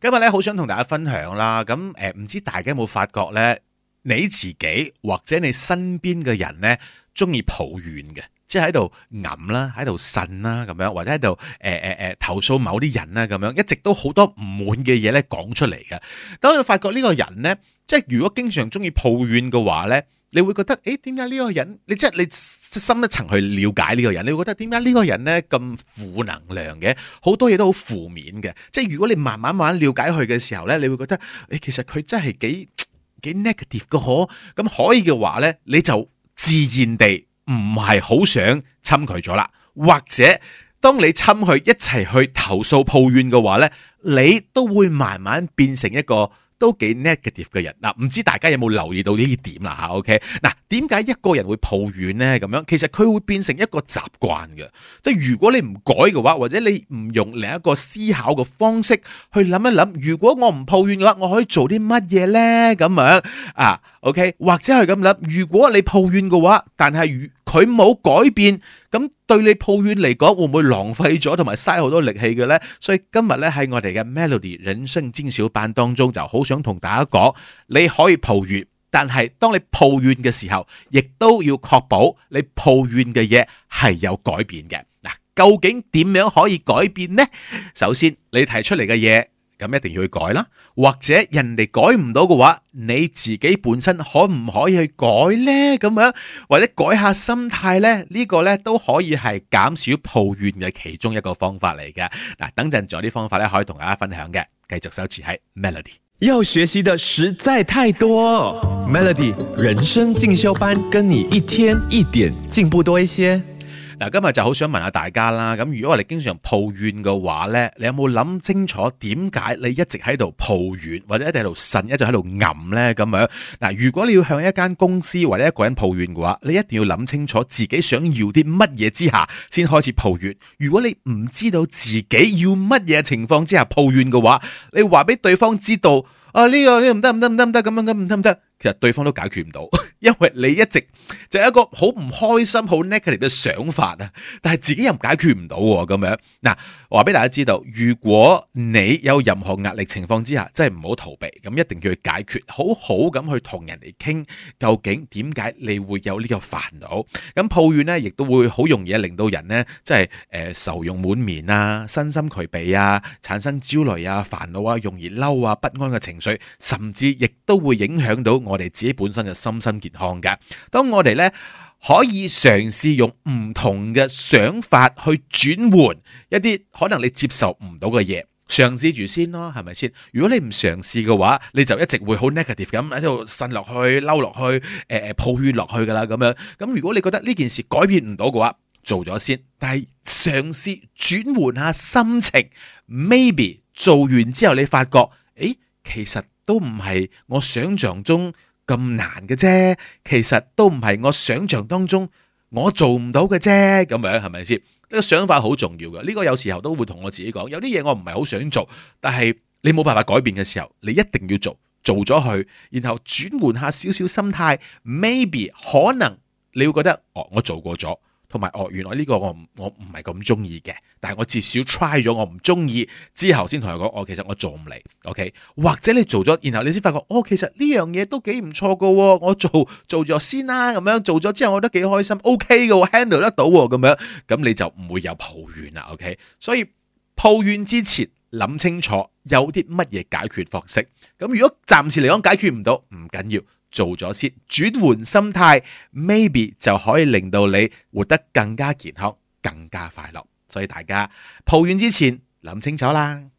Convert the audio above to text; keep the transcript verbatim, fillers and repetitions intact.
今日咧好想同大家分享啦，咁誒唔知大家有冇發覺咧，你自己或者你身邊嘅人咧，中意抱怨嘅，即係喺度揞啦，喺度呻啦咁樣，或者喺度誒誒誒投訴某啲人啦咁樣，一直都好多唔滿嘅嘢咧講出嚟嘅。當你發覺呢個人咧，即係如果經常中意抱怨嘅話咧，你會覺得誒點解呢個人？你即係你深一層去了解呢個人，你會覺得點解呢個人咧咁負能量嘅？好多嘢都好負面嘅。即係如果你慢慢慢慢了解佢嘅時候咧，你會覺得誒其實佢真係幾幾 negative 嘅可。咁可以嘅話咧，你就自然地唔係好想侵佢咗啦。或者當你侵佢一齊去投訴抱怨嘅話咧，你都會慢慢變成一個都幾 negative 嘅人嗱，唔知大家有冇留意到呢啲點啦嚇 ？OK， 嗱，點解一個人會抱怨呢？咁樣其實佢會變成一個習慣嘅，即係如果你唔改嘅話，或者你唔用另一個思考嘅方式去諗一諗，如果我唔抱怨嘅話，我可以做啲乜嘢呢？咁樣啊 ，OK， 或者係咁諗，如果你抱怨嘅話，但係如佢冇改變，咁對你抱怨嚟講，會唔會浪費咗同埋嘥好多力氣嘅呢？所以今日咧喺我哋嘅 Melody 人生精小班當中，就好想同大家講，你可以抱怨，但係當你抱怨嘅時候，亦都要確保你抱怨嘅嘢係有改變嘅。嗱，究竟點樣可以改變呢？首先，你提出嚟嘅嘢，咁一定要去改啦，或者人哋改唔到嘅話，你自己本身可唔可以去改呢？咁樣或者改下心態呢？呢個呢都可以係減少抱怨嘅其中一個方法嚟嘅。嗱，等陣仲有啲方法咧可以同大家分享嘅，繼續守持喺 Melody。 要學習的實在太多 Melody 人生進修班，跟你一天一點進步多一些。 嗱，今日就好想問下大家啦。咁如果我哋經常抱怨嘅話呢，你有冇諗清楚點解你一直喺度抱怨，或者一直喺度呻，一直喺度揞呢？咁樣嗱，如果你要向一間公司或者一個人抱怨嘅話，你一定要諗清楚自己想要啲乜嘢之下先開始抱怨。如果你唔知道自己要乜嘢情況之下抱怨嘅話，你話俾對方知道啊，呢個呢唔得唔得唔得唔得咁樣咁唔得唔得，其實對方都解決唔到，因為你一直就係一個好唔開心、好 negative 嘅想法啊，但係自己又解決唔到喎，咁樣嗱，話俾大家知道，如果你有任何壓力情況之下，真係唔好逃避，咁一定要去解決，好好咁去同人哋傾，究竟點解你會有呢個煩惱？咁抱怨咧，亦都會好容易令到人咧，即係誒愁容滿面啊，身心俱疲啊，產生焦慮啊、煩惱啊、容易嬲啊、不安嘅情緒，甚至亦都會影響到我哋自己本身嘅身心健康嘅。當我哋咧可以嘗試用唔同嘅想法去轉換一啲可能你接受唔到嘅嘢，嘗試住先咯，係咪先？如果你唔嘗試嘅話，你就一直會好 negative 咁喺度呻落去、嬲落去、誒、呃、抱怨落去噶啦咁樣。咁如果你覺得呢件事改變唔到嘅話，做咗先，但係嘗試轉換下心情 ，maybe 做完之後你發覺，誒，其實都唔係我想象中咁難嘅啫，其實都唔係我想象當中我做唔到嘅啫，咁樣係咪先？呢個想法好重要嘅，呢個有時候都會同我自己講，有啲嘢我唔係好想做，但係你冇辦法改變嘅時候，你一定要做，做咗佢，然後轉換下少少心態 ，maybe 可能你會覺得，哦，我做過咗。同埋哦，原來呢個我唔我唔係咁中意嘅，但係我至少 try 咗，我唔中意之後先同佢講，哦，其實我做唔嚟 ，OK？ 或者你做咗，然後你先發覺，哦，其實呢樣嘢都幾唔錯噶，我做做咗先啦，咁樣做咗之後，我覺得幾開心 ，OK 嘅，handle 得到咁樣，咁你就唔會有抱怨啦 ，OK？ 所以抱怨之前諗清楚有啲乜嘢解決方式，咁如果暫時嚟講解決唔到，唔緊要。做咗先，轉換心態 ，maybe 就可以令到你活得更加健康、更加快樂。所以大家抱怨之前諗清楚啦。